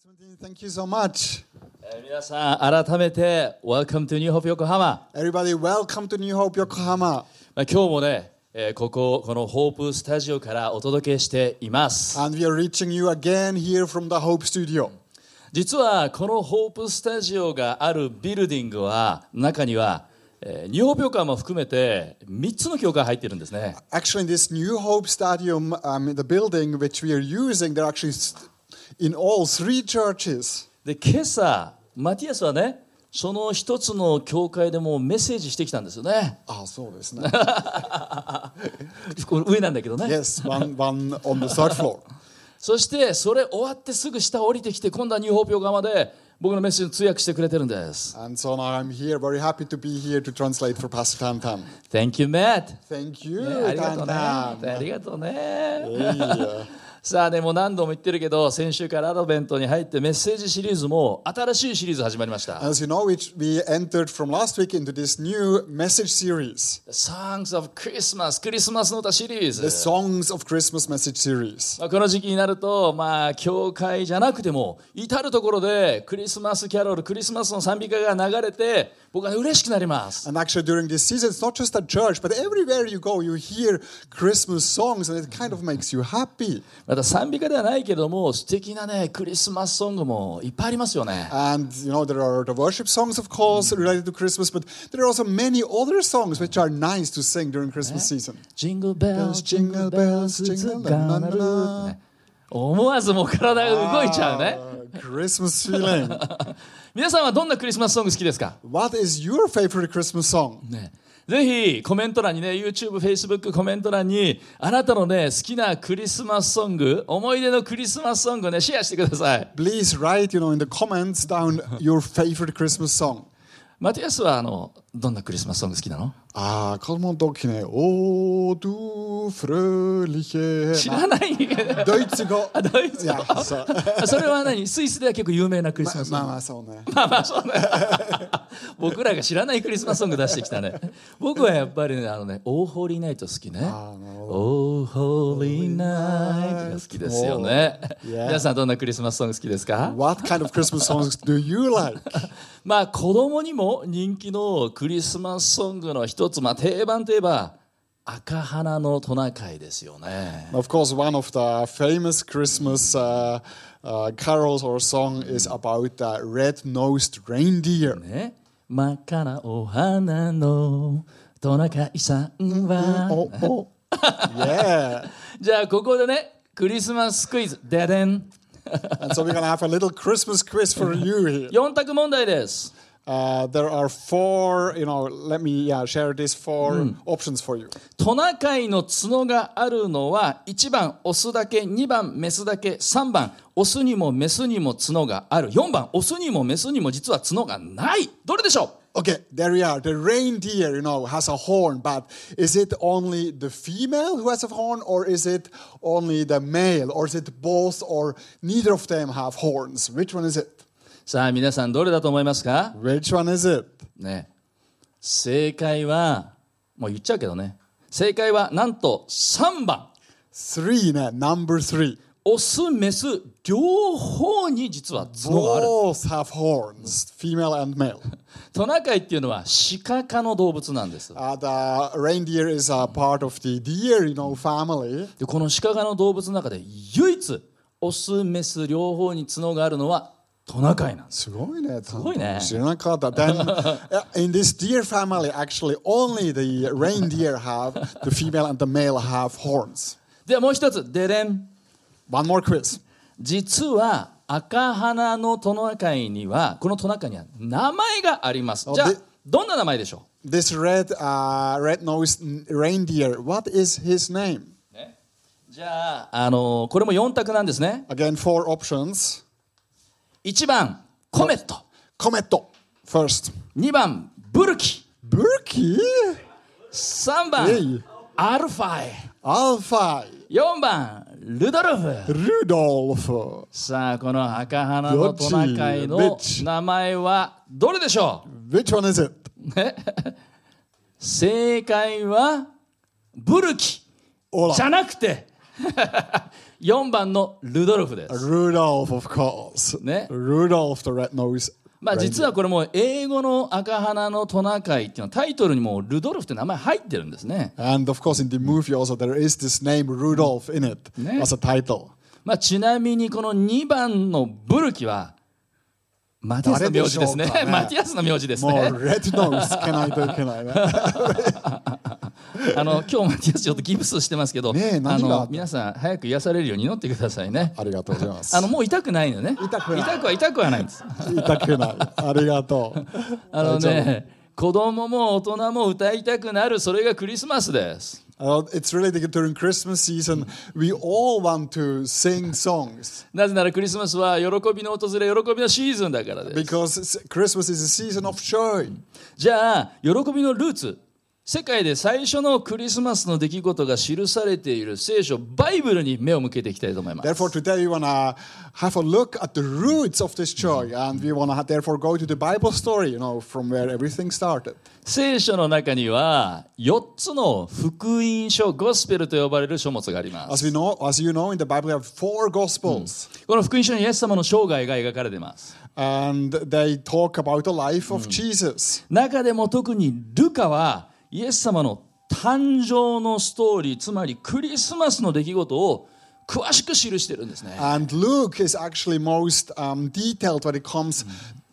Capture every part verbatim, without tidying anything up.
Timothy, thank you so much. えー皆さん改めて Welcome to New Hope 横浜、 Everybody, welcome to New Hope Yokohama. まあ、今日もね、えーこここのホープスタジオからお届けしています。 And we are reaching you again here from the Hope Studio. 実はこのホープスタジオがあるビルディングは中には、えー、ニューホープ横浜も含めてみっつの教会入っているんですね。 Actually, in this New Hope Stadium, um, in the building which we are using, there are actually st- in all three churches. で今朝マティアスはねその一つの教会でもメッセージしてきたんですよね。 あ、そうですね。 これ上なんだけどね。 Yes, one, one on the third floor. そしてそれ終わってすぐ下降りてきて今度はニューホープ横浜で僕のメッセージを通訳してくれてるんです。 And so now I'm here, very happy to be here to translate for Pastor Tantan. Thank you, Matt、 Thank you, ね、ありがとうね。 Tantan. ありがとうね。 Hey. さあでも何度も言ってるけど先週からアドベントに入ってメッセージシリーズも新しいシリーズ始まりました。 As you know, we, we entered from last week into this new message series, Songs of Christmas クリスマスの歌シリー the ズ。 Songs of Christmas message series. まあこの時期になるとまあ教会じゃなくても至るところでクリスマスキャロルクリスマスの賛美歌が流れて僕は嬉しくなります。 And actually, during this season, it's not just at church, but everywhere you go, you hear Christmas songs, and it kind of makes you happy. また賛美歌ではないけども素敵なねクリスマスソングもいっぱいありますよね。 And, you know, there are the worship songs, of course, related to Christmas, but there are also many other songs which are nice to sing during Christmas season. Jingle bells, Jingle bells, jingle gonna bells, root ね思わずもう体が動いちゃうね。 Ah, Christmas feeling. 皆さんはどんなクリスマスソング好きですか、 What is your favorite Christmas song? ね、ぜひコメント欄にね YouTube、Facebook コメント欄にあなたのね好きなクリスマスソング思い出のクリスマスソングをねシェアしてください。 Please write, you know, in the comments down your favorite Christmas song. マティアスはあのどんなクリスマスソング好きなの？ Ah, Kalman Dokine. Oh, du fröhliche. 知らない。 ドイツ語。 あドイツ語。 Yeah, so. それは何スイスでは結構有名なクリスマスソング。 まあまあそうね。 まあまあそうね。僕らが知らないクリスマスソング出してきたね。僕はやっぱりねあのね、オーホーリーナイト好きね。 あなるほど。 オーホーリーナイトが好きですよね。 Yeah. 皆さんどんなクリスマスソング好きですか？ What kind of Christmas songs do you like? まあ子供にも人気のクリスマスソングの一つ、まあ定番といえば赤花のトナカイですよね。 Of course, one of the famous Christmas uh, uh, carols or song is about the red-nosed reindeer. ね、真っ赤なお花のトナカイさんは、 Oh, oh. Yeah. じゃあここでねクリスマスクイズででん And so we're going to have a little Christmas quiz for you here. よん択問題です。 Uh, there are four, you know, let me yeah, share these four options for you. トナカイの角があるのはいちばんオスだけ、にばんメスだけ、さんばんオスにもメスにも角がある、よんばんオスにもメスにも実は角がない。どれでしょう？ Okay, there we are. The reindeer, you know, has a horn, but is it only the female who has a horn, or is it only the male, or is it both, or neither of them have horns? Which one is it? さあ皆さんどれだと思いますか？ Which one is it? ね、正解はもう言っちゃうけどね、正解はなんとさんばん Three, ne? Number three. オスメス両方に実は角がある。 Both have horns, female and male. トナカイっていうのは鹿科の動物なんです。 Uh, the reindeer is a part of the deer, you know, family. でこの鹿科の動物の中で唯一オスメス両方に角があるのはトナカイなんです。 すごいね。 すごいね。 知らなかった。Then, uh, in this deer family, actually, only the reindeer have, the female and the male have horns. ではもう一つでれん。 One more quiz. 実は赤鼻のトナカイにはこのトナカイには名前があります。じゃあでどんな名前でしょ This red, uh, red-nosed reindeer, what is his name? う、ね、じゃあ、あのこれもよん択なんですね。 Again, four options. いちばんコメット、 Cometto, first. にばんブルキ、 Burki? さんばん Hey. アルファイ、 Alpha, よんばんルドルフ。 Rudolph. さあこの赤鼻のトナカイどっのち名前はどれでしょ Which one is it? う？ね正解はブルキほらじゃなくてよんばんのルドルフです。 Rudolph, of course. ね。 Rudolph the red-nosed まあ実はこれも英語の赤鼻のトナカイっていうのはタイトルにもルドルフって名前入ってるんですね。 And of course in the movie also there is this name Rudolph in it ね。 as a title. まあちなみにこのにばんのブルキはマティアスの名字ですね。 誰でしょうかね。 マティアスの名字ですもうね。 red-nosed けないといけないね。 あの今日マティアスちょっとギプスしてますけど、 ねえあ何があったの皆さん早く癒されるように祈ってくださいね。 ありがとうございます。 あのもう痛くないのね。 痛くない痛くは痛くはないんです。 痛くない。ありがとう。 あのね、子供も大人も歌いたくなる、それがクリスマスです。 Uh, it's really during Christmas season, we all want to sing songs なぜならクリスマスは喜びの訪れ、喜びのシーズンだからです。 because Christmas is a season of joy. じゃあ喜びのルーツ、世界で最初のクリスマスの出来事が記されている聖書バイブルに目を向けていきたいと思います。 Therefore, today we want to have a look at the roots of this joy, and we want to therefore go to the Bible story, you know, from where everything started. 聖書の中にはよっつの福音書、ゴスペルと呼ばれる書物があります。 As we know, as you know, in the Bible we have four Gospels, この福音書にイエス様の生涯が描かれています。 and they talk about the life of Jesus. 中でも特にルカはイエス様の誕生のストーリー、つまりクリスマスの出来事を詳しく記しているんですね。 And Luke is actually most um, detailed when it comes,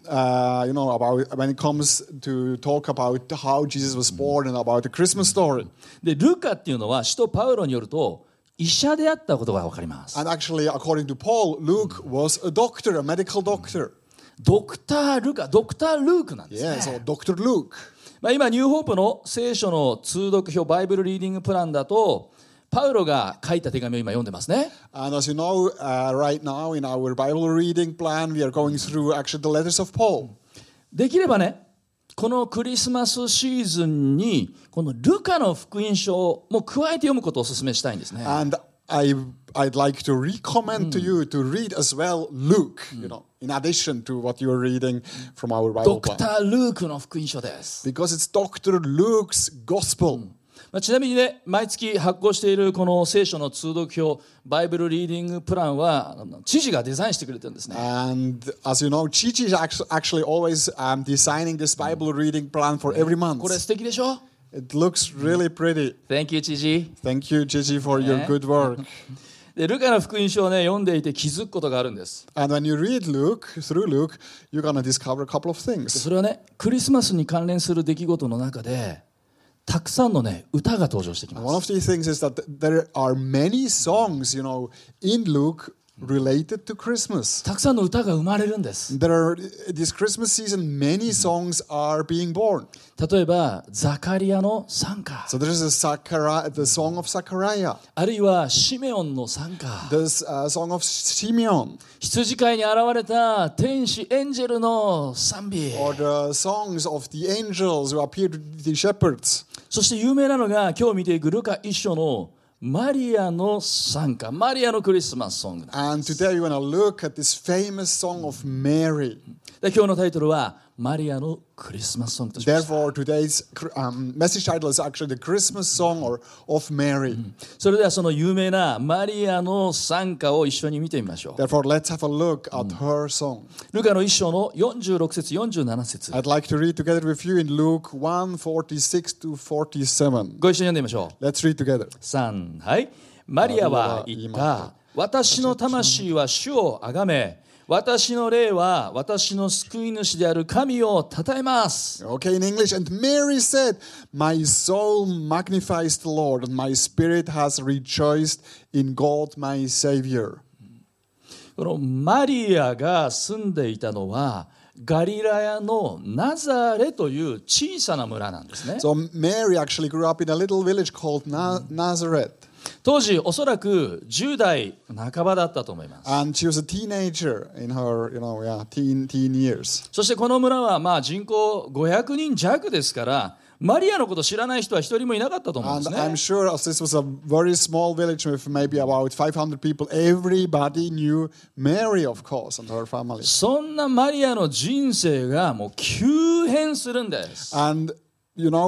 uh, you know, about when it comes to talk about how Jesus was born and about the Christmas story. で、ルカっていうのは使徒パウロによると医者であったことが分かります。 And actually, according to Paul, Luke was a doctor, a medical doctor. ドクター・ルカ、ドクター・ルークなんですね。 Yeah, so Doctor Luke. まあ、今ニューホープの聖書の通読表バイブルリーディングプランだとパウロが書いた手紙を今読んでますね。 And as you know, uh, right now in our Bible reading plan, we are going through actually the letters of Paul. できればね、このクリスマスシーズンにこのルカの福音書も加えて読むことをお勧めしたいんですね。 And I, I'd like to recommend to you to read as well Luke, you know, in addition to what you are reading from our ド Bible ク plan. ター・ルークの福音書です。 Because it's Doctor Luke's Gospel. まあ、ちなみにね、毎月発行しているこの聖書の通読表バイブルリーディングプランはあの知事がデザインしてくれてるんですね。 And as you know, Chichi is actu- actually always um, designing this Bible reading plan for every これ month. 素敵でしょ？ It looks really pretty. Thank you 知事。 Thank you, Chichi, for your Yeah. good work. でルカの福音書をね読んでいて気づくことがあるんです。 And when you read Luke, through Luke, you're going to discover a couple of things. それはね、クリスマスに関連する出来事の中でたくさんのね歌が登場してきま One of す。 the things is that there are many songs, you know, in Luke related to Christmas. たくさんの歌が生まれるんです。 There are, this Christmas season, many songs are being born. 例えばザカリアの賛歌、 So there's a Zachari- the song of Zachariah. あるいはシメオンの賛歌、 There's a song of Simeon. 羊飼いに現れた天使エンジェルの賛美、 Or the songs of the angels who appeared to the shepherds. そして有名なのが今日見ていくルカ一章のマリアの賛歌、マリアのクリスマスソング。 And today we want to look at this famous song of Mary. で今日のタイトルはマリアのクリスマスソングとしました。 Therefore, today's um, message title is actually the Christmas song or of Mary. それではその有名なマリアの賛歌を一緒に見てみましょう。 Therefore, let's have a look at her song. ルカの一章のよんじゅうろく節よんじゅうなな節、 I'd like to read together with you in Luke one forty-six to forty-seven. ご一緒に読んでみましょう。 Let's read together. さん、はい。マリアは言った。私の魂は主をあがめ、私の霊は私の救い主である神を称えます。 Okay, in English. And Mary said, My soul magnifies the Lord, and my spirit has rejoiced in God my Savior. このマリアが住んでいたのはガリラヤのナザレという小さな村なんですね。 So Mary actually grew up in a little village called Na- Nazareth. 当時おそらくじゅう代半ばだったと思います。 And she was a teenager in her, you know, yeah, teen, teen years. そしてこの村はまあ人口ごひゃくにん弱ですからマリアのこと知らない人は一人もいなかったと思うんで And す I'm ね。 sure as this was a very small village with maybe about five hundred people, everybody knew Mary, of course, and her family. そんなマリアの人生がもう急変するんです。 And, you know,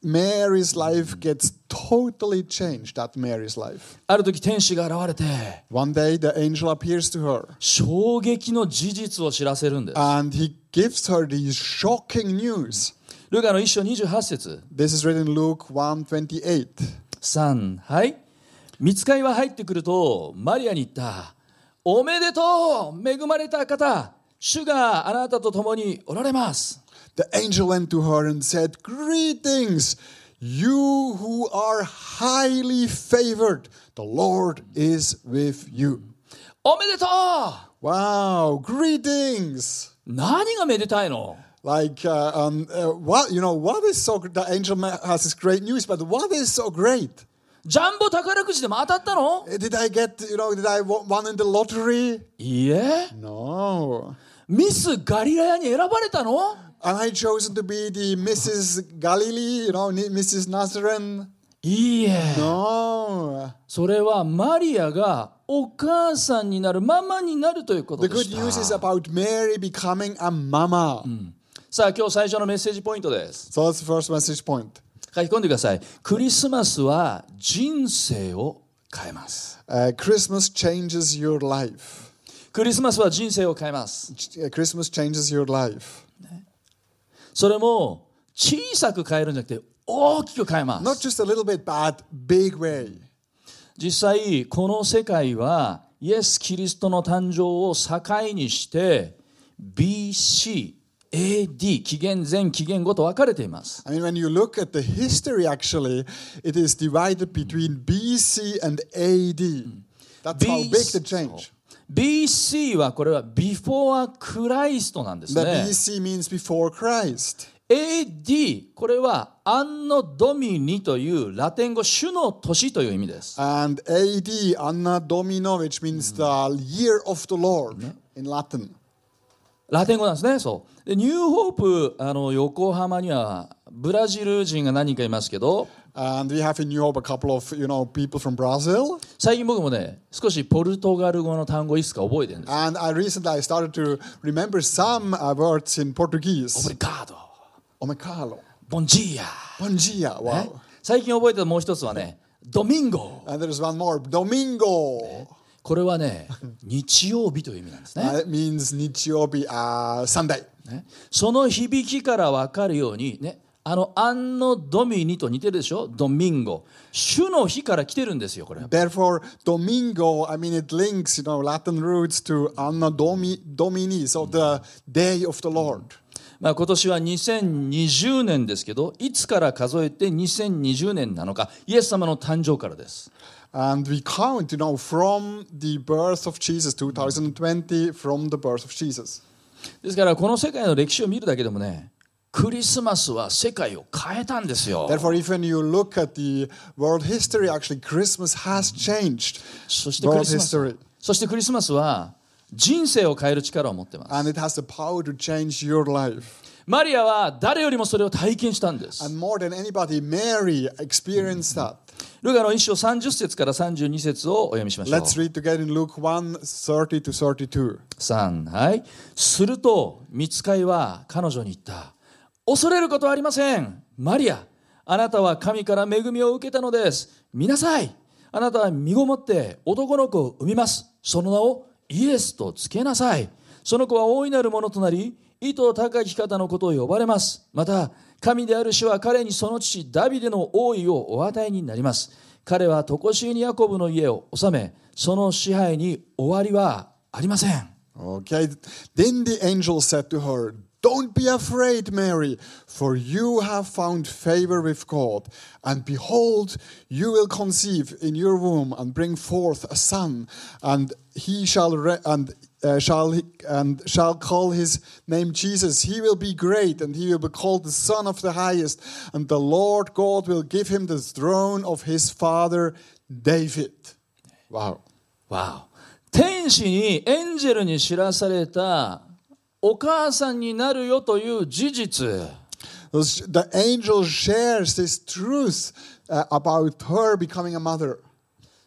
Mary's life gets totally changed. That Mary's life. ある時天使が現れて One day, the angel appears to her, 衝撃の事実を知らせるんです。 and he gives her these shocking news. ルカの一章にじゅうはち節 This is written in Luke one twenty-eight. さん、はい。御使いは入ってくるとマリアに言った。おめでとう、恵まれた方、主があなたと共におられます。 The angel went to her and said, Greetings, you who are highly favored. The Lord is with you. おめでとう。 Wow, greetings. 何がめでたいの？ Like, uh, um, uh, what, you know, what is so, the angel has this great news, but what is so great? ジャンボ宝くじでも当たったの？ Did I get, you know, did I won in the lottery? いいえ。 No. ミスガリラヤに選ばれたの？ Am I chosen to be the Missus Galilee, you know, Missus Nazarene? いいえ。 No. それはマリアがお母さんになる、ママになるということ The で good し news is た。 about Mary becoming a mama. さあ今日最初のメッセージポイントです。 So that's the first message point. 書き込んでください。クリスマスは人生を変えます。 Uh, Christmas changes your life. クリスマスは人生を変えます。 Uh, Christmas changes your life. それも小さく変えるんじゃなくて大きく変えま Not す。 just a little bit, but big way. 実際この世界はイエス・キリストの誕生を境にして ビーシー、エーディー 紀元前紀元後と分かれています。 I mean, when you look at the history, actually, it is divided between B C and A D. That's how big the change. ビーシー はこれは Before Christ なんです The ね。 B C means before Christ. エーディー これはアンノドミニというラテン語主の年という意味です。 And A D, Anno Domino, which means the year of the Lord in Latin. ラテン語なんですね。そうでニューホープあの横浜にはブラジル人が何人かいますけど、 And we have in New Hope a couple of, you know, people from Brazil. 最近僕もね少しポルトガル語の単語いくつか覚えてるんです。 And I recently I started to remember some uh, words in オブ Portuguese. リガード、 Omecalo. ボンジーア、 Bom dia. Wow. 最近覚えてたもう一つはねドミンゴ。 And there's one more. Domingo. これはね日曜日という意味なんですね。 Uh, it means Nichiobi, uh, Sunday. ねその響きから分かるようにね、あのアンノドミニと似てるでしょ。ドミンゴ、主の日から来てるんですよこれ。 Therefore, Domingo, I mean, it links, you know, Latin roots to Anno Domi, Domini, so the day of the Lord. まあ今年はにせんにじゅうねんですけど、いつから数えてにせんにじゅうねんなのか、イエス様の誕生からです。 And we count, you know, from the birth of Jesus, twenty twenty, from the birth of Jesus. ですからこの世界の歴史を見るだけでもね、クリスマスは世界を変えたんですよ。 Therefore, if when you look at the world history, actually Christmas has changed そしてク world リスマス、 history. そしてクリスマスは人生を変える力を持っています。 And it has the power to change your life. マリアは誰よりもそれを体験したんです。 And more than anybody, Mary experienced that. ルカの一章さんじゅっ節からさんじゅうに節をお読みしましょう。 Let's read together in Luke one, thirty to thirty-two. さん、はい。すると御使いは彼女に言った。恐れることはありません。マリア、あなたは神から恵みを受けたのです。見なさい。あなたは身ごもって男の子を産みます。その名をイエスとつけなさい。その子は大いなるものとなり、意図高き方のことを呼ばれます。また、神である主は彼にその父ダビデの王位をお与えになります。彼は常しえにヤコブの家を治め、その支配に終わりはありません。 Okay. Then the angel said to her, Don't be afraid, Mary, for you have found favor with God. And behold, you will conceive in your womb and bring forth a son, and he shall re- and uh, shall he, and shall call his name Jesus. He will be great, and he will be called the Son of the Highest. And the Lord God will give him the throne of his father David. Wow. わお。天使にエンジェルに知らされたお母さんになるよという事実。 The angel shares this truth uh, about her becoming a mother.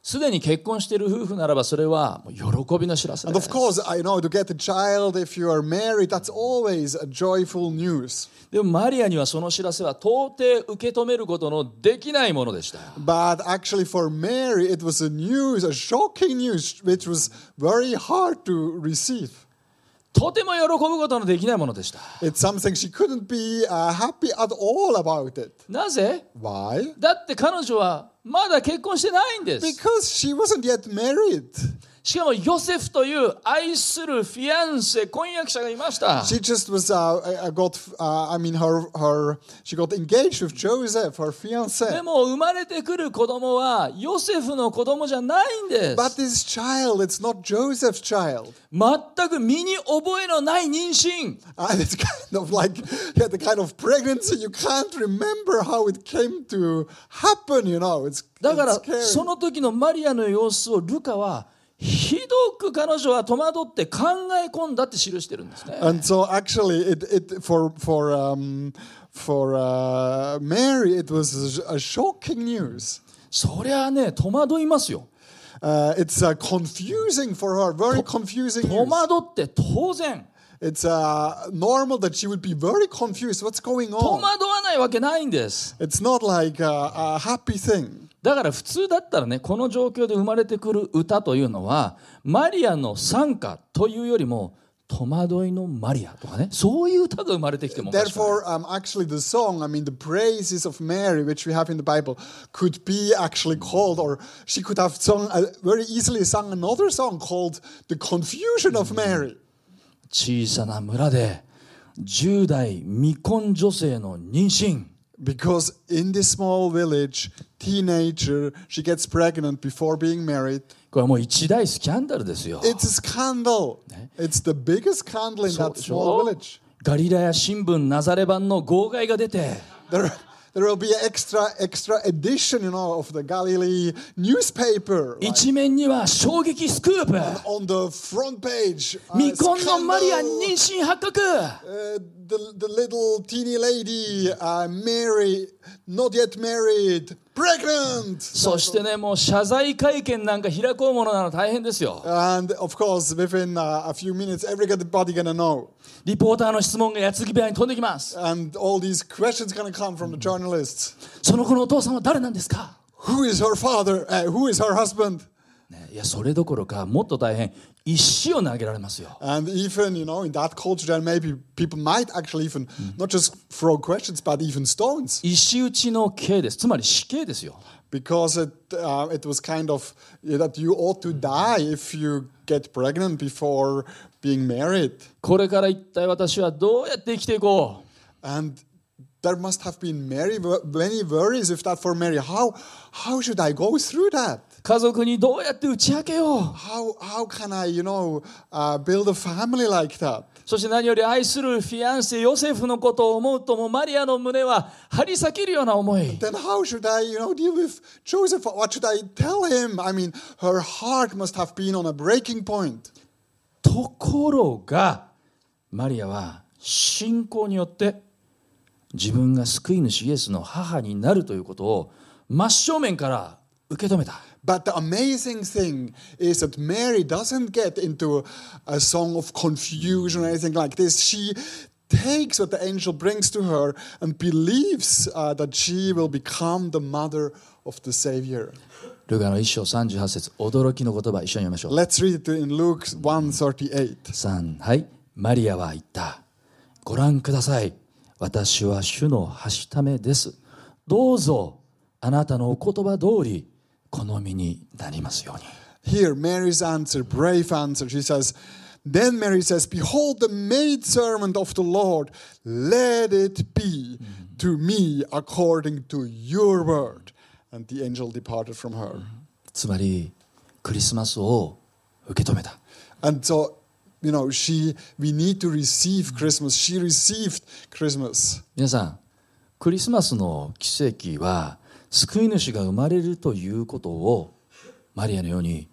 すでに結婚している夫婦ならばそれはもう喜びの知らせで And す。 of course, I know to get a child if you are married, that's always a joyful news. でもマリアにはその知らせは到底受け止めることのできないものでした。 But actually for Mary, it was a news, a shocking news, which was very hard to receive. とても喜ぶことのできないものでした。 It's something she couldn't be uh, happy at all about it. なぜ？ Why? だって彼女はまだ結婚してないんです。 Because she wasn't yet married. しかもヨセフという愛するフィアンセ、婚約者がいました。 She just was, uh, uh, got, uh, I mean, her, her, she got engaged with Joseph, her で fiancé. も生まれてくる子供はヨセフの子供じゃないんで But す。 this child, it's not Joseph's child. 全く身に覚えのない妊娠。 And it's kind of like, yeah, the kind of pregnancy you can't remember how it came to happen, you know. It's, だから it's scary. その時のマリアの様子をルカはひどく彼女は戸惑って考え込んだって記してるんですね。 And so actually, it, it for for um, for uh, Mary, it was a shocking news. そりゃあね戸惑いますよ。 Uh, it's uh, confusing for her, very confusing 戸 news. 惑って当然。 It's uh, normal that she would be very confused. What's going 戸 on? 惑わないわけないんです。 It's not like a, a happy thing. だから普通だったらねこの状況で生まれてくる歌というのはマリアの賛歌というよりも戸惑いのマリアとかねそういう歌が生まれてきてもおかしくない。 Therefore, um, actually, the song, I mean, the praises of Mary, which we have in the Bible, could be actually called, or she could have sung uh, very easily sung another song called "The Confusion of Mary." 小さな村でじゅう代未婚女性の妊娠。 Because in this small village, teenager, she gets pregnant before being married. これはもう一大スキャンダルですよ。 It's a scandal. It's the biggest scandal in そう that でし small ょ village. ガリラヤ新聞ナザレ版の号外が出て There, there will be an extra, extra edition, you know, of the Galilee newspaper. Like, 一面には衝撃スクープ on the front page, uh, 未婚のマリア scandal, 妊娠発覚 uh, the, the little teeny lady, uh, Mary, not yet married, pregnant. そしてねもう謝罪会見なんか開こうものなら大変ですよ。 And of course, within uh, a few minutes, everybody gonna know. リポーターの質問が矢継ぎ早に飛んできます。 And all these questions gonna come from the journalists. その子のお父さんは誰なんですか、 Who is her father? Uh, who is her husband? ね、いやそれどころかもっと大変石を投げられますよ。 And even, you know, in that culture, then maybe people might actually even not just throw questions, but even stones. 石打ちの刑です。つまり死刑ですよ。 Because it, uh, it was kind of yeah, that you ought to die if you get pregnant before being married. これから一体私はどうやって生きていこう。 And there must have been many, many worries with that for Mary. How, how should I go through that? 家族にどうやって打ち明けよう。 How, how can I, you know, uh, build a family like that? そして何より愛するフィアンセヨセフのことを思うともうマリアの胸は張り裂けるような思い。 Then how should I, you know, deal with Joseph? What should I tell him? I mean, her heart must have been on a breaking point. ところがマリアは信仰によって自分が救い主イエスの母になるということを真正面から受け止めた。 But the amazing thing is that Mary doesn't get into a song of confusion or anything like this. She takes what the angel brings to her and believes uh, that she will become the mother of the Savior. ルカの一章さんじゅうはち節驚きの言葉一緒に読みましょう。 Let's read it in Luke one thirty-eight. さんはいマリアは言った。ご覧ください。私は主のはしためです。どうぞあなたのお言葉通り好みになりますように。 Here, Mary's answer, brave answer. She says, Then Mary says, Behold the maidservant of the Lord, let it be to me according to your word. And the angel departed from her. つまりクリスマスを受け止めた。 And so, you know, she, we need to receive Christmas. She received Christmas. 皆さんクリスマスの奇跡は救い主が生まれるということをマリアのように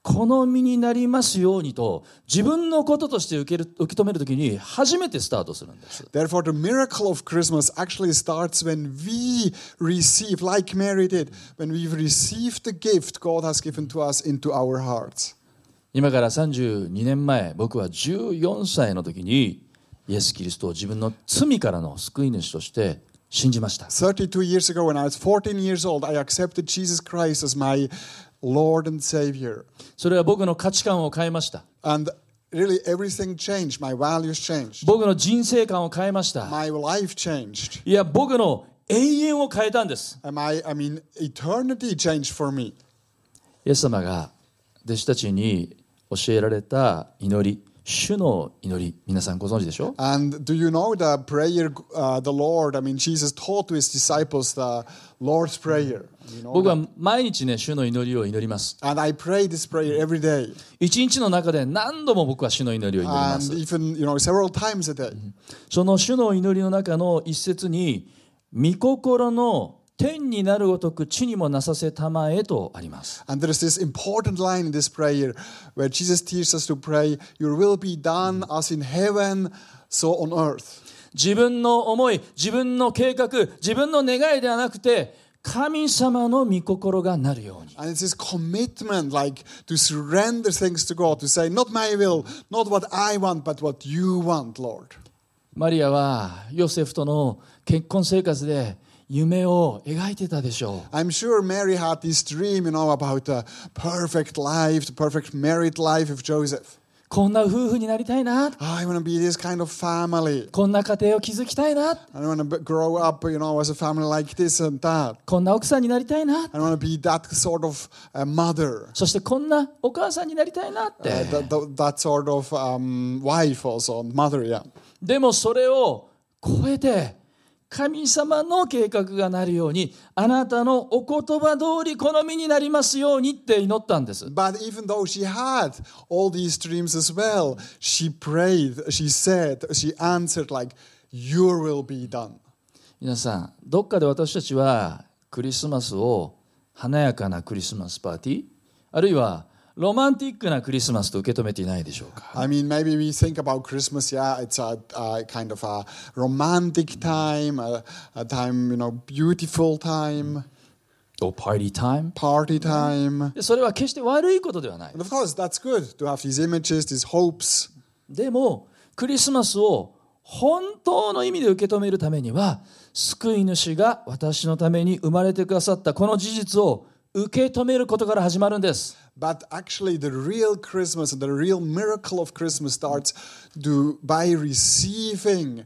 この身になりますようにと自分のこととして受ける受け止めるときに初めてスタートするんです。 Therefore, the miracle of Christmas actually starts when we receive, like Mary did, when we've received the gift God has given to us into our hearts. 今からさんじゅうにねんまえ、僕はじゅうよんさいの時にイエス・キリストを自分の罪からの救い主として信じました。 thirty-two years ago, when I was fourteen years old, I accepted Jesus Christ as my Lord and Savior. それは僕の価値観を変えました。 And really everything changed. My values changed. 僕の人生観を変えました。 My life changed. いや、僕の永遠を変えたんです。 And my, I mean, eternity changed for me. イエス様が弟子たちに教えられた祈り、主の祈り、皆さんご存知でしょう？ And do you know the prayer uh, the Lord, I mean, Jesus taught to his disciples the Lord's Prayer. You know 僕は that? 毎日ね、主の祈りを祈ります。 And I pray this prayer every day. 一日の中で何度も僕は主の祈りを祈りま And す。 even, you know, several times a day. その主の祈りの中の一節に、御心の天になるごとく地にもなさせたまえとあります。 And there is this important line in this prayer where Jesus teaches us to pray, Your will be done as in heaven, so on earth. 自分の思い、自分の計画、自分の願いではなくて、神様の御心がなるように。 And it's this commitment, like to surrender things to God, to say, not my will, not what I want, but what you want, Lord. マリアはヨセフとの結婚生活で夢を描いてたでしょう。 I'm sure Mary had this dream, you know, about the perfect life, the perfect married life of Joseph. こんな夫婦になりたいな。 I want to be this kind of family. こんな家庭を築きたいな。 I want to grow up, you know, as a family like this and that. こんな奥さんになりたいな。 I want to be that sort of uh, mother. そしてこんなお母さんになりたいなって。 Uh, that, that, that sort of um, wife also, mother, yeah. でもそれを超えて神様の計画がなるように、あなたのお言葉通りこの身になりますようにって祈ったんです。 But even though she had all these dreams as well, she prayed, she said, she answered like, Your will be done. 皆さん、どっかで私たちはクリスマスを華やかなクリスマスパーティー、あるいはロマンティックなクリスマスと受け止めていないでしょうか。 I mean, maybe we think about Christmas, yeah, it's a, a kind of a romantic time, a, a time, you know, beautiful time, or party time. party time. でそれは決して悪いことではない。 And of course, that's good to have these images, these hopes. でもクリスマスを本当の意味で受け止めるためには、救い主が私のために生まれてくださったこの事実を受け止めることから始まるんです。 But actually, the real Christmas and the real miracle of Christmas starts to, by receiving,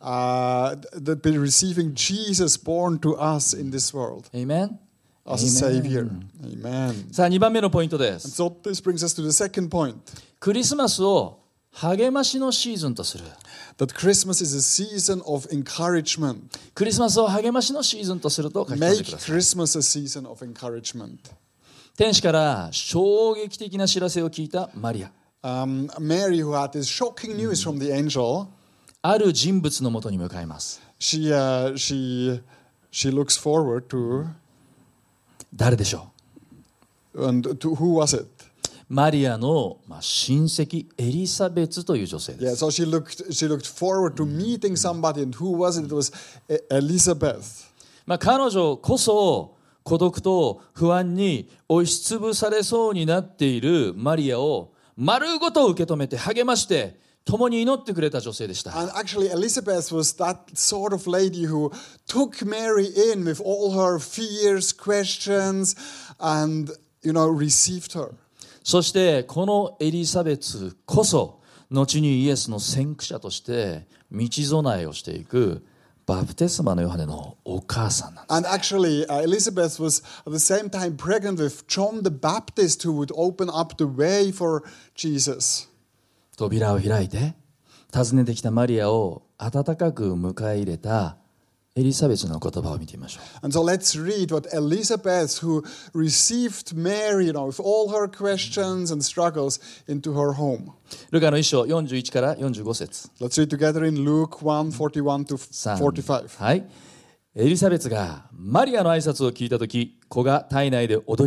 uh, the, by receiving Jesus born to us in this world Amen? as a Savior. Amen. さあにばんめのポイントで And す。 so this brings us to the second point, クリスマスを励ましのシーズンとする。 that Christmas is a season of encouragement. クリスマスを励ましのシーズンとすると書き込んで Make ください。 Christmas a season of encouragement. 天使から衝撃的な知らせを聞いたマリア。 Um, Mary, who had this shocking news from the angel, ある人物のもとに向かいます。 she, uh, she, she looks forward to, 誰でしょ and to who was it? う？マリアの、まあ、親戚エリザベツという女性 Yeah, です。 so she looked, she looked forward to meeting somebody, and who was it? It was E- Elizabeth. まあ、彼女こそ孤独と不安に押しつぶされそうになっているマリアを丸ごと受け止めて励まして共に祈ってくれた女性でした。 And actually, Elizabeth was that sort of lady who took Mary in with all her fears, questions, and, you know, received her. そしてこのエリザベツこそ後にイエスの先駆者として道備えをしていくバプテスマのヨハネのお母さんなんです。 And actually, uh, Elizabeth was at the same time pregnant with John the Baptist, who would open up the way for Jesus. 扉を開いて訪ねてきたマリアを温かく迎え入れたエリザベツの言葉を見てみましょう。 And so let's read what Elizabeth, who received Mary, you know, with all her questions and struggles, into her home. ルカの一章よんじゅういちからよんじゅうご節。 Let's read together in Luke one, forty-one to さん forty-five. はい。エリザベツがマリアの挨拶を聞いたとき、子が体内で踊り、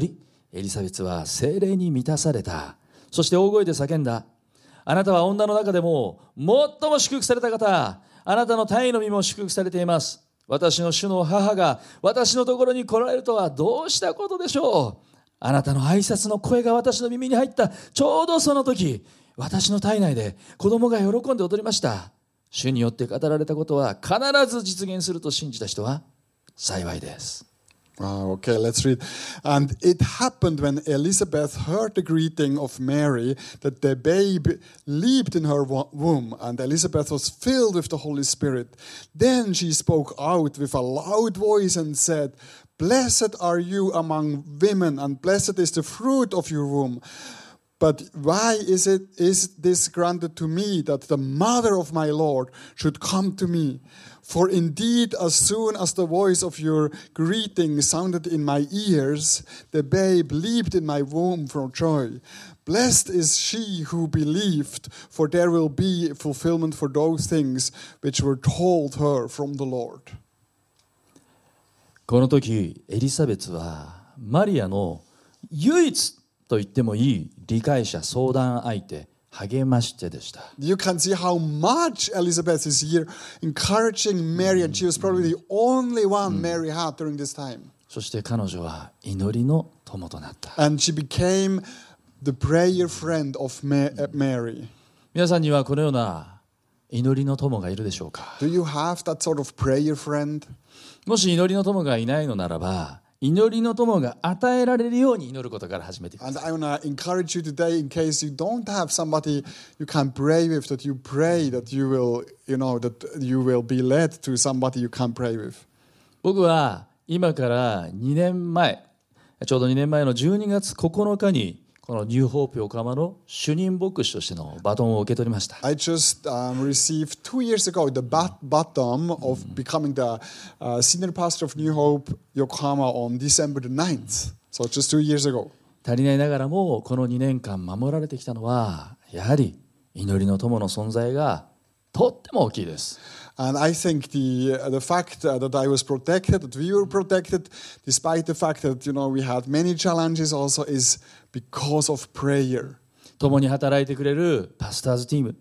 エリザベスは聖霊に満たされた。そして大声で叫んだ。あなたは女の中でも最も祝福された方。あなたの胎の身も祝福されています。私の主の母が私のところに来られるとはどうしたことでしょう。あなたの挨拶の声が私の耳に入った。ちょうどその時、私の体内で子供が喜んで踊りました。主によって語られたことは必ず実現すると信じた人は幸いです。 Wow, okay, let's read. And it happened when Elizabeth heard the greeting of Mary that the babe leaped in her womb, and Elizabeth was filled with the Holy Spirit. Then she spoke out with a loud voice and said, Blessed are you among women, and blessed is the fruit of your womb. But why is it is this granted to me that the mother of my Lord should come to me? For indeed, as soon as the voice of your greeting sounded in my ears, the babe leaped in my womb for joy. Blessed is she who believed, for there will be fulfillment for those things which were told her from the Lord. この時、エリザベスはマリアの唯一と言ってもいい理解者、相談相手、励まし手でした。 You can see how much Elizabeth is here encouraging Mary, and she was probably the only one Mary had during this time. そして彼女は祈りの友となった。 And she became the prayer friend of Mary. 皆さんにはこのような祈りの友がいるでしょうか。 Do you have that sort of prayer friend? もし祈りの友がいないのならば、祈りの友が与えられるように祈ることから始めてください。 And I want to encourage you today, in case you don't have somebody you can pray with, that you pray that you will, you know, that you will be led to somebody you can pray with. 僕は今からにねんまえ、ちょうどにねんまえのじゅうにがつここのかにこのニューホープ横浜の主任牧師としてのバトンを受け取りました。 I just um, received two years ago the bat- baton of becoming the uh, senior pastor of New Hope Yokohama on December the ninth. So just two years ago. 足りないながらもこのにねんかん守られてきたのはやはり祈りの友の存在がとっても大きいです。 And I think the uh, the fact uh, that I was protected, that we were protected, despite the fact that, you know, we had many challenges also, is because of prayer. 共に働いてくれるパスターズチーム、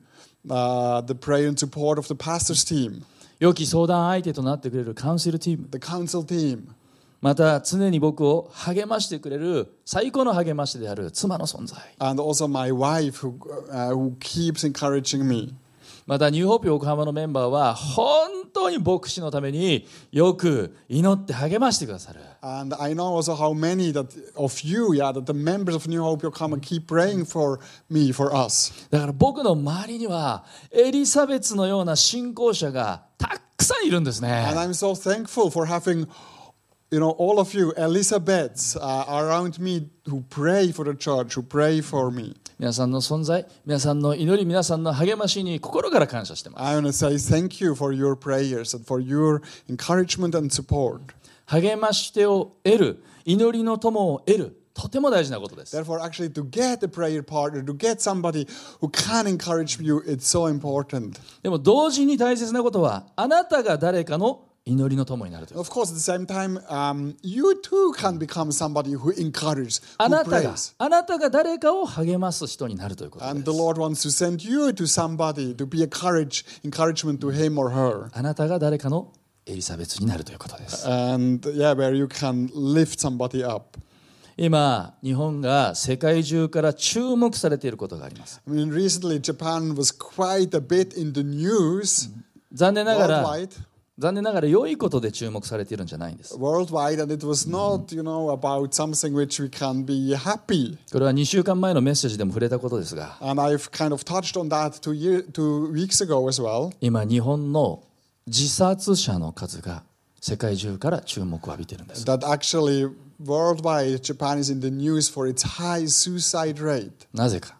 Uh, the prayer and support of the pastors team, 良き相談相手となってくれるカウンセルチーム、 the council team, また常に僕を励ましてくれる最高の励ましである妻の存在、 and also my wife who uh, who keeps encouraging me. またニューホープ横浜のメンバーは本当に牧師のためによく祈って励ましてくださる。 And I know also how many that of you, yeah, that the members of New Hope Yokohama keep praying for me, for us. だから僕の周りにはエリザベスのような信仰者がたくさんいるんですね。 And I'm so thankful for having, you know, all of you, Elizabeths uh, around me who pray for the church, who pray for me. 皆さんの存在、皆さんの祈り、皆さんの励ましに心から感謝しています。 I want to say thank you for your prayers and for your encouragement and support. 励まし手を得る、祈りの友を得る、とても大事なことです。 Therefore, actually, to get a prayer partner, to get somebody who can encourage you, it's so important. でも同時に大切なことは、あなたが誰かの祈りの友になるという。 Of course, at the same time, um, you too can become somebody who encourages, あ who なたが、 prays. あなたが誰かを励ます人になるということで And す。 the Lord wants to send you to somebody to be a courage, encouragement to him or her. あなたが誰かのエリザベスになるということです。 And yeah, where you can lift somebody up. 今、日本が世界中から注目されていることがあります。 I mean, recently Japan was quite a bit in the news 残念ながら、 worldwide, 残念ながら良いことで注目されているんじゃないんです。 worldwide, and it was not, you know, about something which we can be happy. これはにしゅうかんまえのメッセージでも触れたことですが、 And I've kind of touched on that two, year, two weeks ago as well. 今日本の自殺者の数が世界中から注目を浴びているんです。 That actually worldwide Japan is in the news for its high suicide rate. なぜか、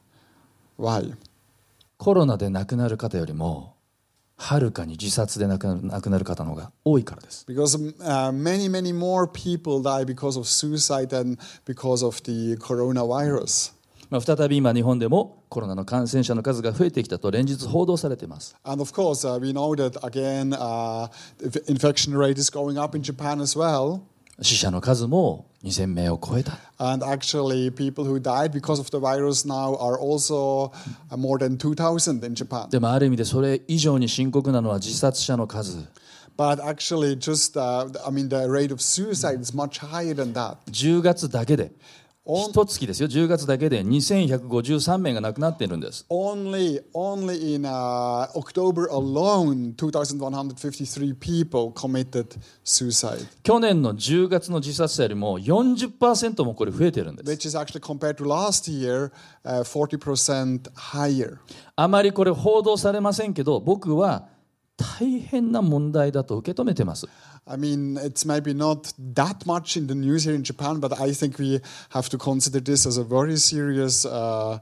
Why? コロナで亡くなる方よりもはるかに自殺で亡くなる、亡くなる方の方が多いからです。 Because uh, many, many more people die because of suicide than because of the coronavirus. まあ、再び今日本でもコロナの感染者の数が増えてきたと連日報道されています。 And of course, uh, we know that again, uh, the infection rate is going up in Japan as well. 死者の数もにせんめいを超えた。 And actually, people who died because of the virus now are also uh, more than two thousand in Japan. でもある意味でそれ以上に深刻なのは自殺者の数。 But actually, just, uh, I mean, the rate of suicide is much higher than that. じゅうがつだけで、 On- 一月ですよ、じゅうがつだけでにせんひゃくごじゅうさんめいが亡くなっているんです。 Only, only in uh, October alone, two thousand one hundred fifty-three people committed suicide, 去年のじゅうがつの自殺者よりも よんじゅっパーセント もこれ増えてるんです。 which is actually compared to last year, uh, forty percent higher. あまりこれ報道されませんけど、僕は大変な問題だと受け止めてます。 I mean, it's maybe not that much in the news here in Japan, but I think we have to consider this as a very serious, uh,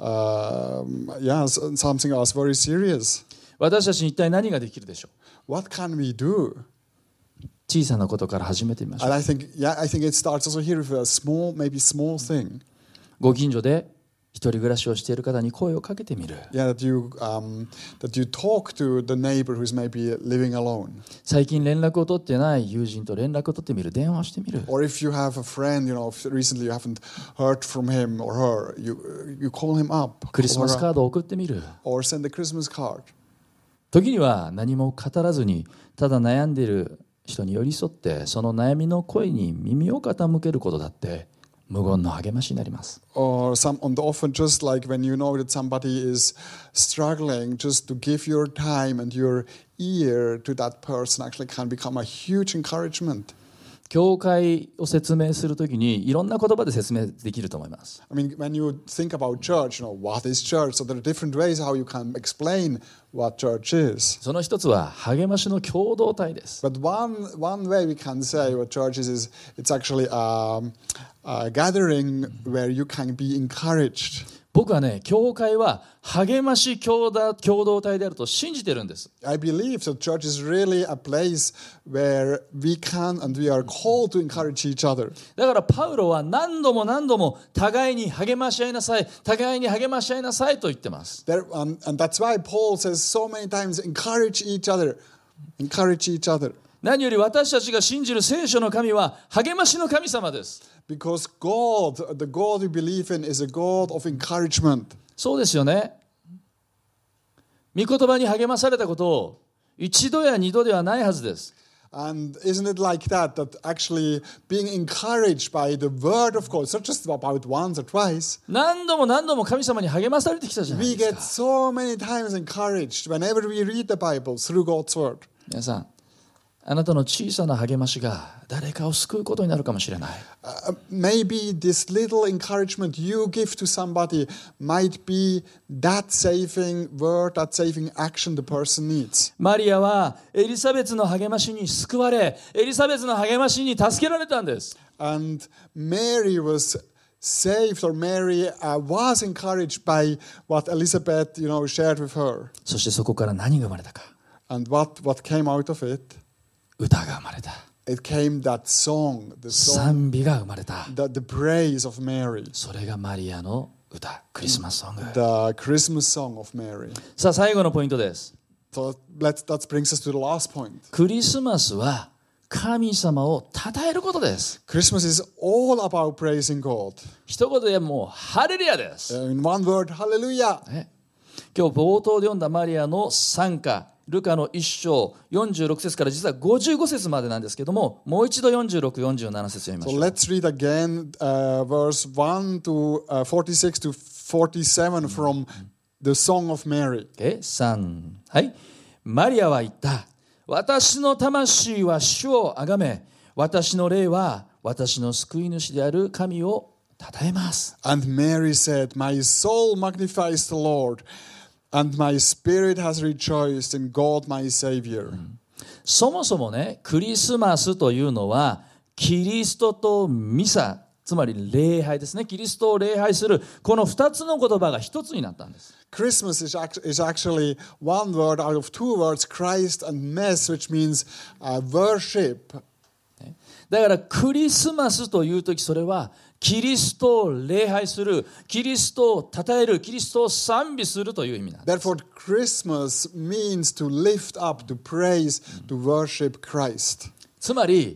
uh, yeah, something else very serious. 私たちに一体何ができるでしょう。 What can we do? 小さなことから始めてみましょう。 And I think, yeah, I think it starts also here with a small, maybe small thing. ご近所で一人暮らしをしている方に声をかけてみる。 Yeah, that you um, that you talk to the neighbor who's maybe living alone, 最近連絡を取ってない友人と連絡を取ってみる。電話をしてみる。 or if you have a friend, you know, if recently you haven't heard from him or her, you you call him up, クリスマ call ス her カ up, ードを送ってみる。 or send a Christmas card. 時には何も語らずにただ悩んでいる人に寄り添ってその悩みの声に耳を傾けることだって無言の励ましになります。 Or some, and often just like when you know that somebody is struggling, just to give your time and your ear to that person actually can become a huge encouragement. 教会を説明するときにいろんな言葉で説明できると思います。 I mean, when you think about church, you know, what is church? So there are different ways how you can explain what church is. その一つは励ましの共同体です。 But one, one way we can say what church is, is it's actually um, a gathering where you can be encouraged. 僕はね、教会は励まし共同共同体であると信じてるんです。 I believe that church is really a place where we can and we are called to encourage each other. だからパウロは何度も何度も互いに励まし合いなさい、互いに励まし合いなさいと言ってます。 There, um, and that's why Paul says so many times, encourage each other, encourage each other. 何より私たちが信じる聖書の神は励ましの神様です。 Because God, the God we believe in, is a God of encouragement. そうですよね。御言葉に励まされたことを一度や二度ではないはずです。 And isn't it like that, that actually being encouraged by the word of God, it's not just about once or twice. 何度も何度も神様に励まされてきたじゃない We です get か。 so many times encouraged whenever we read the Bible through God's word. 皆さん、あなたの小さな励ましが誰かを救うことになるかもしれない。 Uh, maybe this little encouragement you give to somebody might be that saving word, that saving action the person needs. マリアはエリザベツの励ましに救われ、エリザベツの励ましに助けられたんです。 And Mary was saved, or Mary uh, was encouraged by what Elizabeth, you know, shared with her. そしてそこから何が生まれたか。 And what, what came out of it? 歌が生まれた。 It came that song, the song, 賛美が生まれた。 the, the praise of Mary, それがマリアの歌、クリスマスソング。 the Christmas song of Mary. さあ最後のポイントです。 So let's, that brings us to the last point. クリスマスは神様を称えることです。 Christmas is all about praising God. 一言でもうハレルヤです。 In one word, hallelujah. ね、今日冒頭で読んだマリアの賛歌、ルカの一章よんじゅうろく節から実はごじゅうご節までなんですけども、もう一度よんじゅうろく、よんじゅうなな節読みま So しょう。 let's read again uh, verse one to uh, forty-six to forty-seven from the Song of Mary. さん、はい。マリアは言った。私の魂は主をあがめ、私の霊は私の救い主である神を称えます。 And Mary said, My soul magnifies the Lord, and my spirit has rejoiced in God my Savior. そもそもね、クリスマスというのはキリストとミサ、つまり礼拝ですね。キリストを礼拝するこの二つの言葉が一つになったんです。 Christmas is, act- is actually one word out of two words, Christ and Mess, which means uh, worship. だからクリスマスというとき、それはキリストを礼拝する、キリストを称える、キリストを賛美するという意味なんです。 Therefore, Christmas means to lift up, to praise, to worship Christ. つまり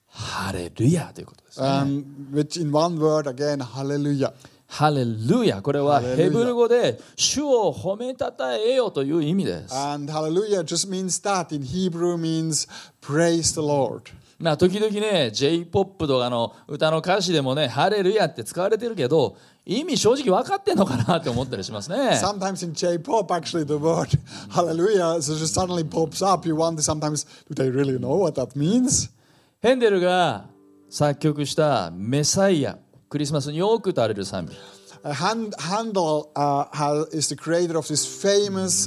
ハレルヤということですね。 And which in one word again, hallelujah. ハレルヤ、これはハレルヤヘブル語で主を褒めたたえよという意味です。 And hallelujah just means that. In Hebrew means praise the Lord. まあ時々ね ジェイポップ とかの歌の歌詞でもねハレルヤって使われてるけど意味正直分かってんのかなって思ったりしますね。 Sometimes in J-pop, actually, the word hallelujah so just suddenly pops up. You wonder sometimes, do they really know what that means? ヘンデルが作曲したメサイア、クリスマスによく歌われる賛美。 Uh, Hand- Handel uh, ha- is the creator of this famous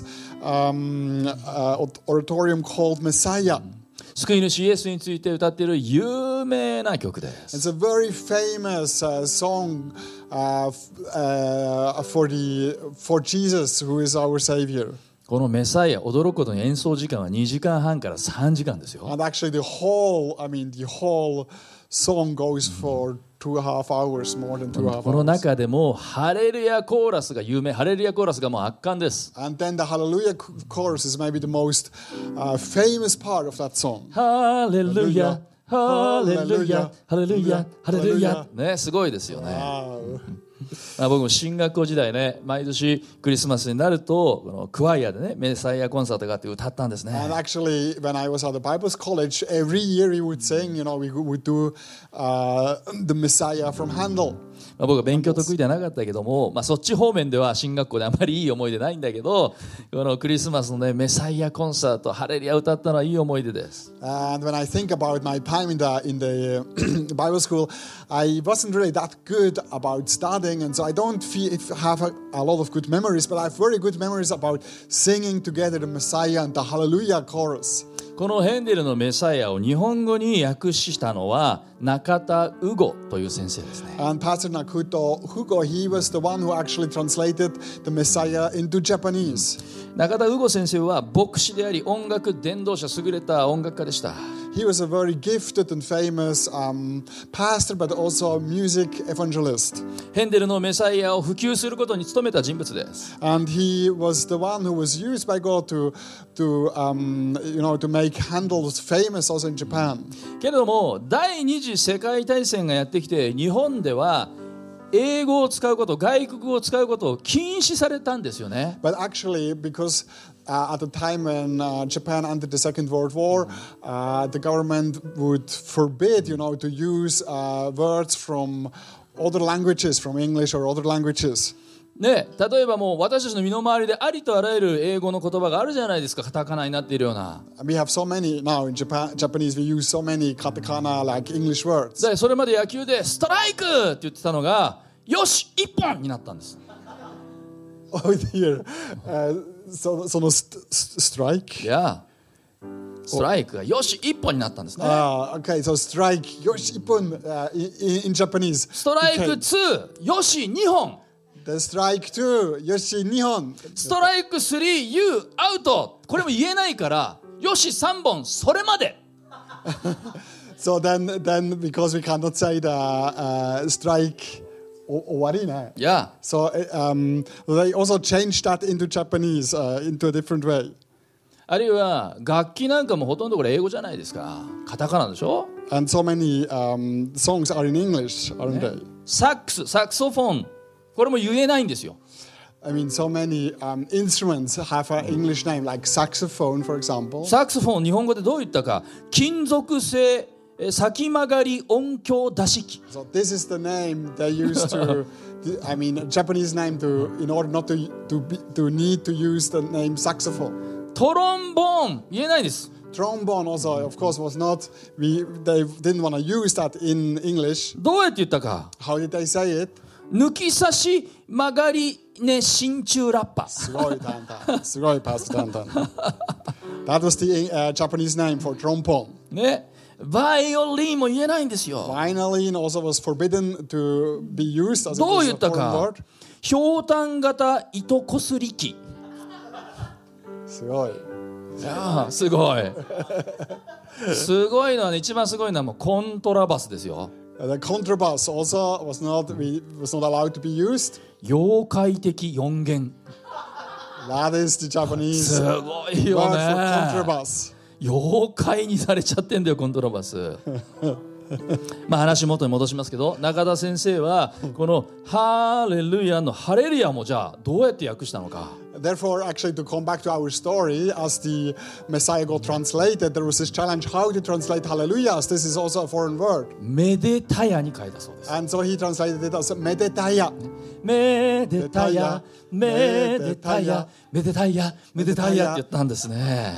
um, uh, oratorium called Messiah. 救い主イエスについて歌っている有名な曲です。 It's a very famous uh, song uh, f- uh, for, the, for Jesus, who is our Savior. このメサイア、驚くことに演奏時間はにじかんはんからさんじかんですよ。 And actually, the whole, I mean, the whole song goes for two and a half hours, more than two and a half この hours. 中でもハレルヤコーラスが有名、ハレルヤコーラスがもう圧巻です。 And then the Hallelujah chorus is maybe the most uh, famous part of that song. ハレルヤ、ハレルヤ、ハレルヤ、ハレルヤ。ね、すごいですよね。 Wow. まあ僕も進学校時代ね、毎年クリスマスになるとこのクワイアでね、メサイアコンサートがあって歌ったんですね。 And actually, when I was at the Bible college, every year we would sing, you know, we would do uh, the Messiah from Handel. まあ僕は勉強得意ではなかったけども、まあ、そっち方面では進学校であまりいい思い出ないんだけど、このクリスマスのねメサイアコンサート、ハレルヤ歌ったのはいい思い出です。 And when I think about my time in the in the uh, Bible school, I wasn't really that good about studying, and so I don't feel, have a, a lot of good memories. But I have very good memories about singing together the Messiah and the Hallelujah chorus. このヘンデルのメサイアを日本語に訳したのは中田ウゴという先生ですね。 And Pastor Nakuto Hugo, he was the one who actually translated the Messiah into Japanese. 中田ウゴ先生は牧師であり音楽伝道者、優れた音楽家でした。 He was a very gifted and famous um, pastor, but also a music evangelist. ヘンデルのメサイアを普及することに努めた人物です。 And he was the one who was used by God to, to um, you know, to make Handel famous also in Japan. けれども第二次世界大戦がやってきて日本では英語を使うこと、外国語を使うことを禁止されたんですよね。 But actually, because uh, at the time when uh, Japan entered the Second World War, uh, the government would forbid, you know, to use uh, words from other languages, from English or other languages. ね、例えばもう私たちの身の回りでありとあらゆる英語の言葉があるじゃないですか。カタカナになっているような。 We have so many now in Japan, Japanese. We use so many katakana like English words. でそれまで野球でストライクって言ってたのがよし一本になったんです。 Oh dear. Uh, so, so no st- st- strike. いやストライクがよし一本になったんですね。 Ah, okay. So strike. Yoshi ippon uh, in, in Japanese. ストライク Okay. によしにほん、 The strike two. Yoshi nihon. ストライクさんユーアウト、これも言えないからよしさんぼんそれまで。 So then, then because we cannot say the uh, strike. Owari ne. いや So uh, um, they also changed that into Japanese uh, into a different way. あるいは楽器なんかもほとんどこれ英語じゃないですか。カタカナでしょ。 And so many um, songs are in English, aren't they? サックス、サクソフォン、これも言えないんですよ。 I mean, so many um, instruments have an English name, like saxophone, for example. サクソフォン日本語でどう言ったか、金属製え先曲がり音響出し機。 So this is the name they used to. I mean, Japanese name to in order not to to be, to need to use the name saxophone. トロンボーン言えないです。 Trombone also, of course, was not. We they didn't want to use that in English. どうやって言ったか。 How did they say it? 抜き差し曲がりね真鍮ラッパ。 Sugoi tantan. Sugoi Pastor Tantan. That was the uh, Japanese name for trombone. ね、バイオリンも言えないんですよ。 Violin also was forbidden to be used as it どう was 言 a った foreign か word.。 ひょうたん型糸こすり機。 すごい。 いやーすごい。すごいのはね、一番すごいのはもうコントラバスですよ。 The contrabass also was not we was not allowed to be used. 妖怪的四弦。 That is the Japanese すごいよ word ね。 for contrabass. 妖怪にされちゃってんだよコントラバス。 まあ話元に戻しますけど、中田先生はこのハレルヤのハレルヤもじゃあどうやって訳したのか。 Therefore, actually, to come back to our story, as the Messiah got translated, there was this challenge how to translate hallelujah, as this is also a foreign word. めでたやに書いたそうです。 And so he translated it as medetaya. めでたや、めでたや、めでたや、めでたやって言ったんですね。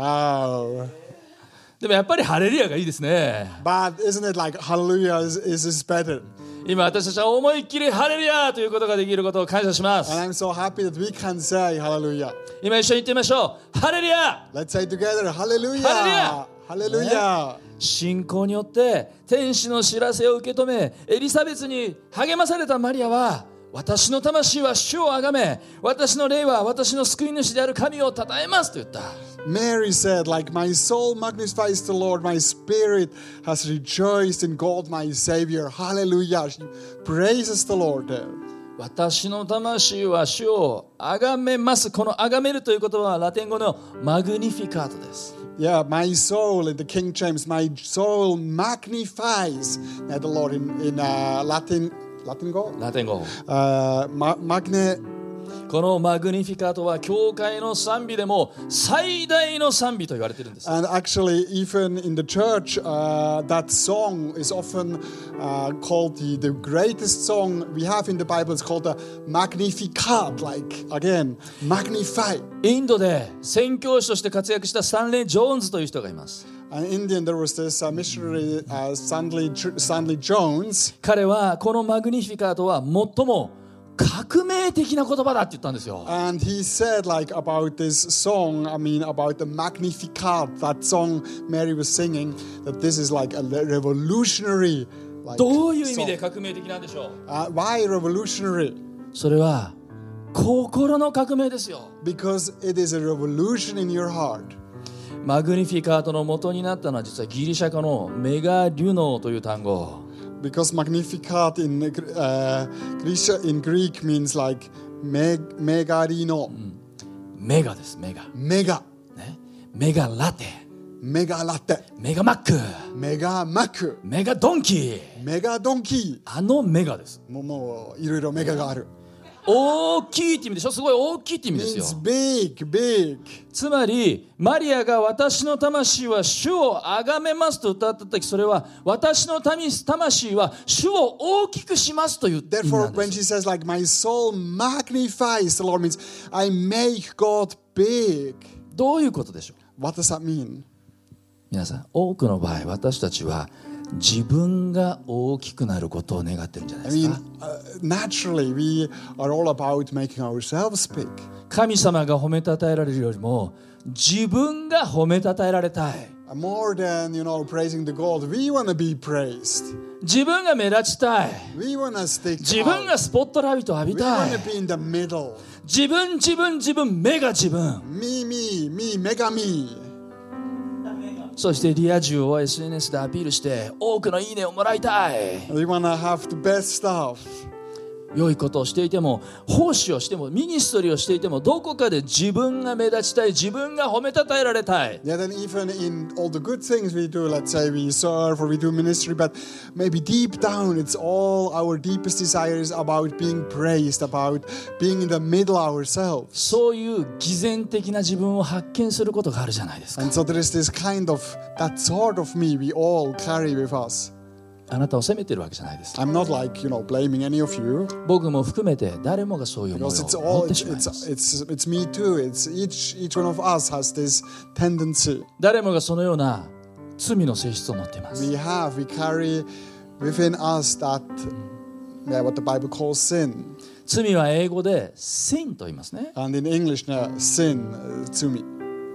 Wow. でもやっぱりハレルヤがいいですね。 But isn't it like hallelujah is, is, is better? 今私たちは思いっきりハレルヤということができることを感謝します。 And I'm so happy that we can say hallelujah. 今一緒に言ってみましょう。ハレルヤ。 Let's say together hallelujah. Hallelujah. Hallelujah. 信仰によって天使の知らせを受け止め、エリザベスに励まされたマリアは、私の魂は主をあがめ、私の霊は私の救い主である神を称えますと言った。 Mary said, like, my soul magnifies the Lord, my spirit has rejoiced in God, my Savior. Hallelujah. She praises the Lord there. 私の魂は主をあがめます。このあがめるという言葉はラテン語のマグニフィカートです。 Yeah, my soul in the King James, my soul magnifies uh, the Lord in, in uh, Latin. Latin go? ラテン語。 Uh, ma- magne. このマグニフィカートは教会の賛美でも最大の賛美と言われているんです。 And actually, even in the church, uh, that song is often uh, called the, the greatest song we have in the Bible. It's called the Magnificat, like, again, magnify. インドで宣教師として活躍したスタンレー・ジョーンズという人がいます。 And in India, there was this uh, missionary, uh, Stanley, Stanley Jones. 彼はこのマグニフィカートは最も革命的な言葉だって言ったんですよ。 And he said, like, about this song, I mean, about the Magnificat, that song Mary was singing, that this is like a revolutionary, like, どういう意味で song. 革命的なんでしょう。 Uh, why revolutionary? それは心の革命ですよ。 Because it is a revolution in your heart. マグニフィカートの元になったのは実はギリシャ語のメガリュノーという単語。 Because Magnificat in, uh, Greek, in Greek means like meg, megarino. メガです、メガ。 Mega. ね、メガラテ、 Mega latte. メガマック、 Mega mac. メガドンキー。 Mega donkey. あのメガです。 もう、もういろいろメガがある。 大きいって意味でしょ。すごい大きいって意味ですよ。 Means big, big. つまりマリアが私の魂は主をあがめますと歌った時、それは私の魂は主を大きくしますという意味な Therefore, んで when す。 she says like my soul magnifies the Lord, means I make God big. どういうことでしょう。 What does that mean? 皆さん、多くの場合私たちは自分が大きくなることを願ってるんじゃない I です mean, か。 uh, naturally, we are all about making ourselves big. 神様が褒めたたえられるよりも自分が褒めたたえられたい。 More than, you know, praising the God, we want to be praised. 自分が目立ちたい。 We want to stick 自分 out. がスポットライトを浴 We びた want い。 to be in the middle. 自分自分自分目が自分。 Me, me, me, mega me. そしてリア充を エスエヌエス でアピールして多くのいいねをもらいたい。 We want to have the best stuff. 良いことをしていても、奉仕をしても、ミニストリーをしていても、どこかで自分が目立ちたい、自分が褒めたたえられたい。 Yeah, then even in all the good things we do, let's say we serve or we do ministry, but maybe deep down it's all our deepest desires about being praised, about being in the middle ourselves. そういう偽善的な自分を発見することがあるじゃないですか。 And so there is this kind of, that sort of me we all carry with us. あなたを責めてるわけじゃないです。 I'm not like, you know, blaming any of you. 僕も含めて誰もがそういう思い Because it's を持っ all, て it's, しまいます。 it's, it's, it's me too. It's each, each one of us has this tendency. 誰もがそのような罪の性質を持っています。 We have, we carry within us that, yeah, what the Bible calls sin. 罪は英語で sin と言いますね。 And in English, uh, sin, uh, to me.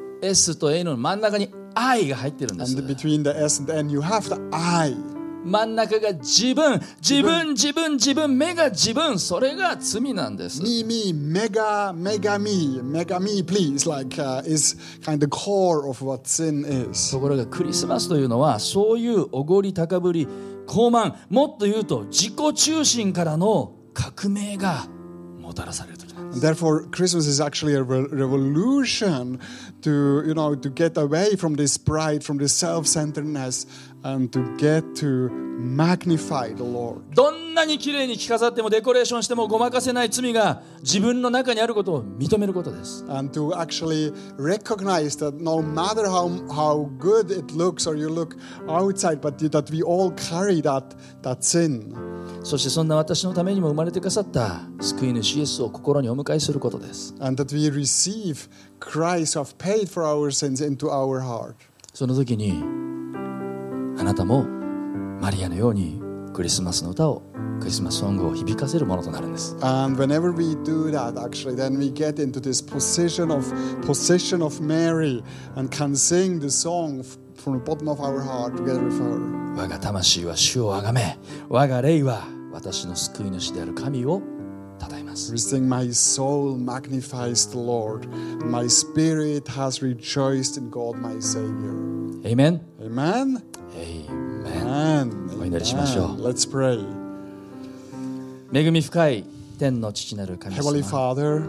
S と A の真ん中に I が入ってるんです。 And between the S and the N, you have the I. 真ん中が自分、自分、自分、自分、目が自分、それが罪なんです。 Me, me, mega, mega me, mega me, please, like, uh, is kind of the core of what sin is. ところがクリスマスというのはそういうおごり高ぶり、傲慢、もっと言うと自己中心からの革命がもたらされる時なんです。 And therefore, Christmas is actually a re- revolution to, you know, to get away from this pride, from this self-centeredness, and to get to magnify the Lord. どんなに綺麗に着飾ってもデコレーションしてもごまかせない罪が自分の中にあることを認めることです。 And to actually recognize that no matter how, how good it looks or you look outside, but that we all carry that, that sin. そしてそんな私のためにも生まれてくださった救い主イエスを心にお迎えすることです。 And that we receive Christ who have paid for our sins into our heart. その時にあなたもマリアのようにクリスマスの歌をクリスマスソングを響かせるものとなるんです。 And whenever we do that, actually, then we get into this position of possession of Mary and can sing the song from the bottom of our heart together with her. 我が魂は主をあがめ、我が霊は私の救い主である神を称えます。 We sing, My soul magnifies the Lord, and my spirit has rejoiced in God my Savior. Amen. Amen. Amen. お祈りしましょう。 Let's pray. 恵み深い天の父なる神 Heavenly 様、 Father,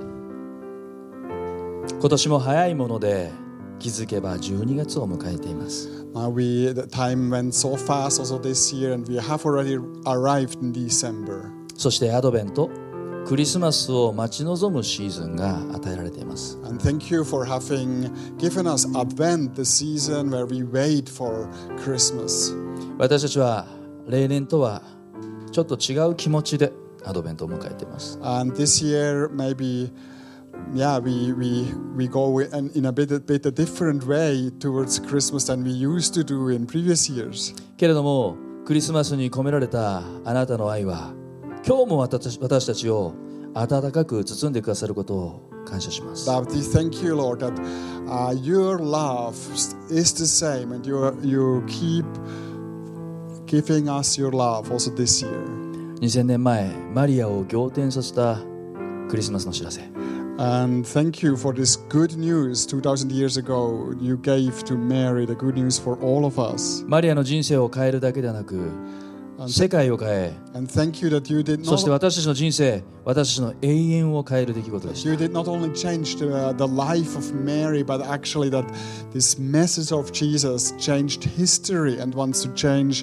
今年も早いもので気づけばじゅうにがつを迎えています。 uh, we, the time went so fast also this year, and we have already arrived in December. そしてアドベント、クリスマスを待ち望むシーズンが与えられています。 And thank you for having given us Advent, the season where we wait for Christmas. 私たちは例年とはちょっと違う気持ちでアドベントを迎えています。 And this year, maybe, yeah, we we we go in, in a bit a bit a different way towards Christmas than we used to do in previous years. けれどもクリスマスに込められたあなたの愛は今日も私私たちを温かく包んでくださることを感謝します。 But we thank you, Lord, that uh, your love is the same, and you you keep giving us your love also this year. にせんねんまえマリアを仰天させたクリスマスの知らせ。 And thank you for this good news. two thousand years ago, you gave to Mary the good news for all of us. マリアの人生を変えるだけではなく世界を変え、 And thank you that you did そして not 私たちの人生、私たちの永遠を変える出来事でした。 you did not only change the, uh, the life of Mary, but actually that this message of Jesus changed history and wants to change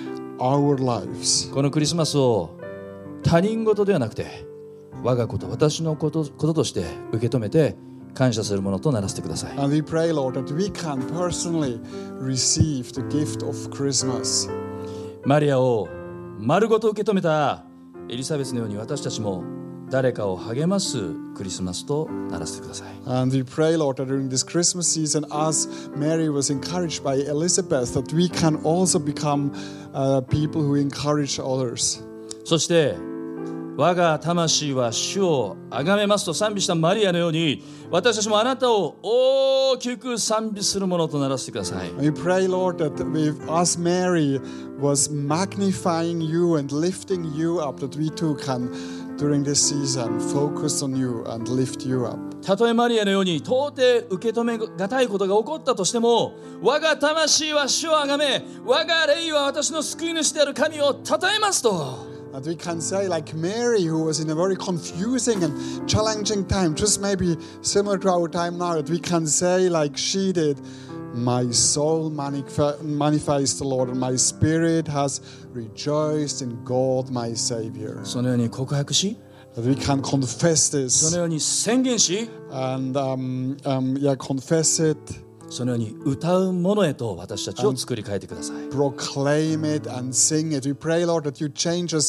our lives. このクリスマスを他人事ではなくて我がこと、私のこと、こととして受け止めて感謝するものとならせてください。 And we pray, Lord, that we can personally receive the gift of Christmas. マリアを丸ごと受け止めたエリザベスのように私たちも誰かを励ますクリスマスとならせてください。 And we pray, Lord, that during this Christmas season, as Mary was encouraged by Elizabeth, that we can also become uh, people who encourage others. そして我が魂は主をあがめますと賛美したマリアのように私たちもあなたを大きく賛美するものとならせてください。 We pray, Lord, that we, as Mary was magnifying you and lifting you up, that we too can, during this season, focus on you and lift you up. たとえマリアのように到底受け止めがたいことが起こったとしても我が魂は主をあがめ我が霊は私の救い主である神を称えますと。 That we can say, like Mary, who was in a very confusing and challenging time, just maybe similar to our time now, that we can say, like she did, my soul manif- manifests the Lord, and my spirit has rejoiced in God, my Savior. そのように告白し That we can confess そ this のように宣言し and um, um, yeah, confess it, そのように歌うものへと私たちを作り変えてください。 proclaim it, and sing it. We pray, Lord, that you change us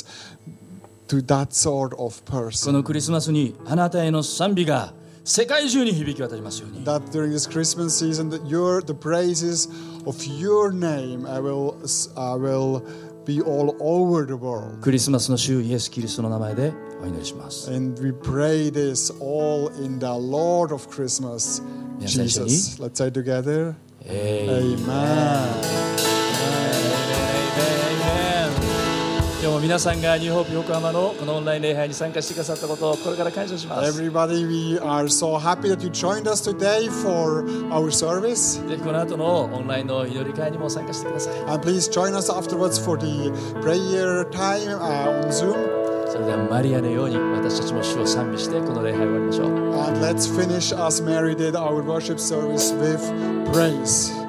to that sort of こ person. のクリスマスにあなたへの賛美が世界中に響き渡りますように。 That during this Christmas season, that your the praises of your name I will I will be all over the world. クリスマスの主イエス・キリストの名前でお祈りします。 And we pray this all in the Lord of Christmas, 皆さん一緒に Jesus. Let's say together, エイメン Amen. 今日も皆さんがニューホープ横浜のこのオンライン礼拝に参加してくださったことをこれから感謝します。 Everybody, we are so happy that you joined us today for our service. ぜひこの後のオンラインの祈り会にも参加してください。 And please join us afterwards for the prayer time uh, on Zoom. それではマリアのように私たちも主を賛美してこの礼拝を終わりましょう。 And let's finish as Mary did our worship service with praise.